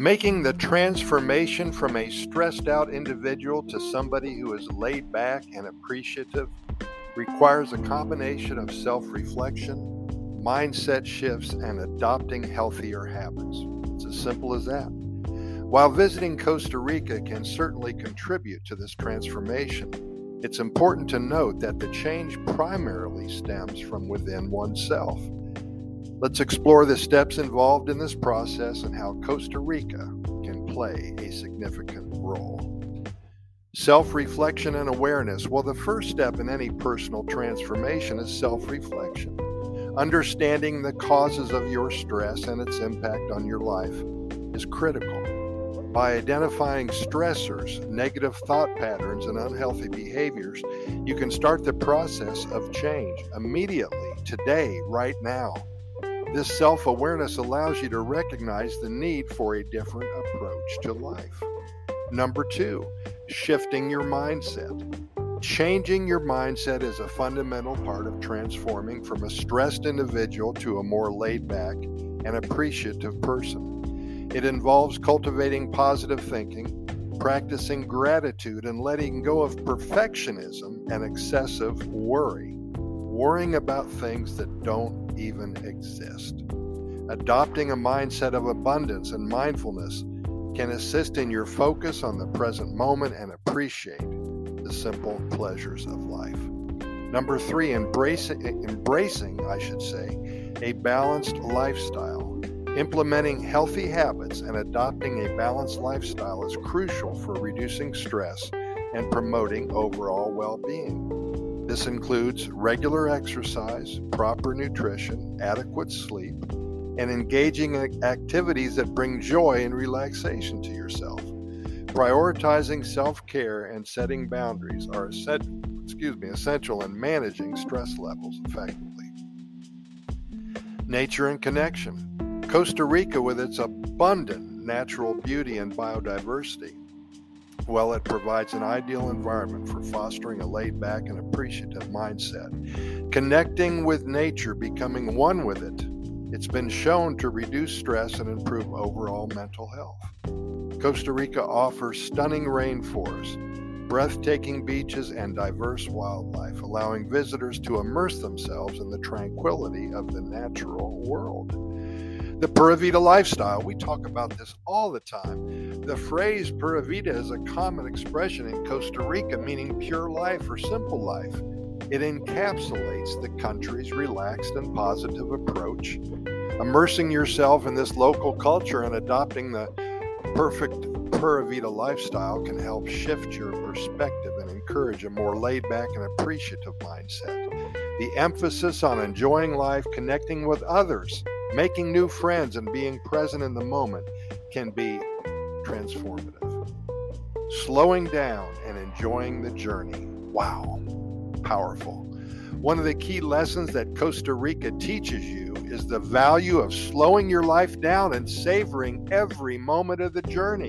Making the transformation from a stressed out individual to somebody who is laid back and appreciative requires a combination of self-reflection, mindset shifts, and adopting healthier habits. It's as simple as that. While visiting Costa Rica can certainly contribute to this transformation, it's important to note that the change primarily stems from within oneself. Let's explore the steps involved in this process and how Costa Rica can play a significant role. Self-reflection and awareness. Well, the first step in any personal transformation is self-reflection. Understanding the causes of your stress and its impact on your life is critical. By identifying stressors, negative thought patterns, and unhealthy behaviors, you can start the process of change immediately, today, right now. This self-awareness allows you to recognize the need for a different approach to life. Number 2, shifting your mindset. Changing your mindset is a fundamental part of transforming from a stressed individual to a more laid-back and appreciative person. It involves cultivating positive thinking, practicing gratitude, and letting go of perfectionism and excessive worry. Worrying about things that don't even exist. Adopting a mindset of abundance and mindfulness can assist in your focus on the present moment and appreciate the simple pleasures of life. Number 3, embracing a balanced lifestyle. Implementing healthy habits and adopting a balanced lifestyle is crucial for reducing stress and promoting overall well-being. This includes regular exercise, proper nutrition, adequate sleep, and engaging in activities that bring joy and relaxation to yourself. Prioritizing self-care and setting boundaries are essential in managing stress levels effectively. Nature and connection. Costa Rica, with its abundant natural beauty and biodiversity, well, it provides an ideal environment for fostering a laid-back and appreciative mindset. Connecting with nature, becoming one with it, it's been shown to reduce stress and improve overall mental health. Costa Rica offers stunning rainforests, breathtaking beaches, and diverse wildlife, allowing visitors to immerse themselves in the tranquility of the natural world. The Pura Vida lifestyle, we talk about this all the time. The phrase Pura Vida is a common expression in Costa Rica, meaning pure life or simple life. It encapsulates the country's relaxed and positive approach. Immersing yourself in this local culture and adopting the perfect Pura Vida lifestyle can help shift your perspective and encourage a more laid-back and appreciative mindset. The emphasis on enjoying life, connecting with others, making new friends, and being present in the moment can be transformative. Slowing down and enjoying the journey. Wow, powerful. One of the key lessons that Costa Rica teaches you is the value of slowing your life down and savoring every moment of the journey.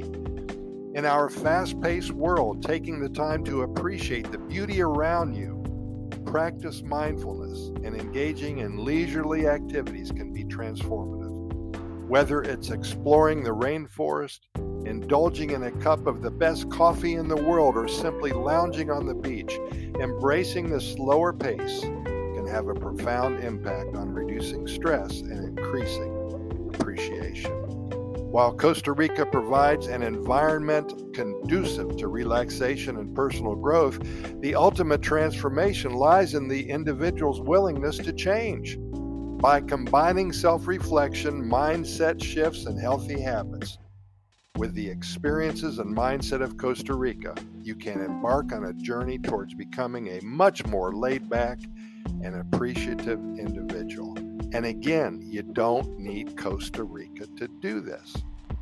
In our fast-paced world, taking the time to appreciate the beauty around you, practice mindfulness, and engaging in leisurely activities can be transformative. Whether it's exploring the rainforest, indulging in a cup of the best coffee in the world, or simply lounging on the beach, embracing the slower pace can have a profound impact on reducing stress and increasing appreciation. While Costa Rica provides an environment conducive to relaxation and personal growth, the ultimate transformation lies in the individual's willingness to change. By combining self-reflection, mindset shifts, and healthy habits with the experiences and mindset of Costa Rica, you can embark on a journey towards becoming a much more laid-back and appreciative individual. And again, you don't need Costa Rica to do this.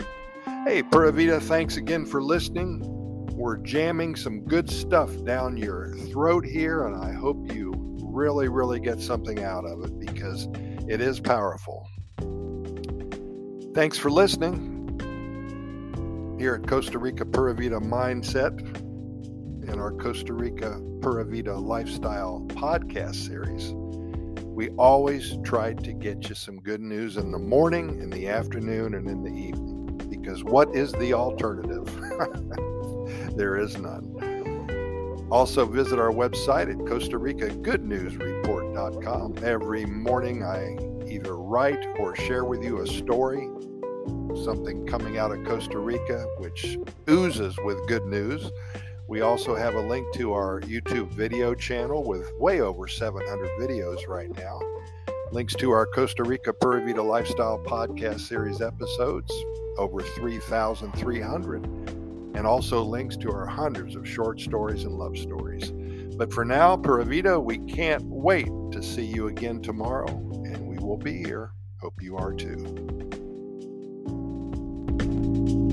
Hey, Pura Vida, thanks again for listening. We're jamming some good stuff down your throat here, and I hope you really, really get something out of it because it is powerful. Thanks for listening. Here at Costa Rica Pura Vida Mindset in our Costa Rica Pura Vida Lifestyle podcast series. We always try to get you some good news in the morning, in the afternoon, and in the evening, because what is the alternative? There is none. Also visit our website at Costa Rica GoodNewsReport.com. Every morning I either write or share with you a story, something coming out of Costa Rica, which oozes with good news. We also have a link to our YouTube video channel with way over 700 videos right now. Links to our Costa Rica Pura Vida Lifestyle Podcast Series episodes, over 3,300. And also links to our hundreds of short stories and love stories. But for now, Pura Vida, we can't wait to see you again tomorrow, and we will be here. Hope you are too.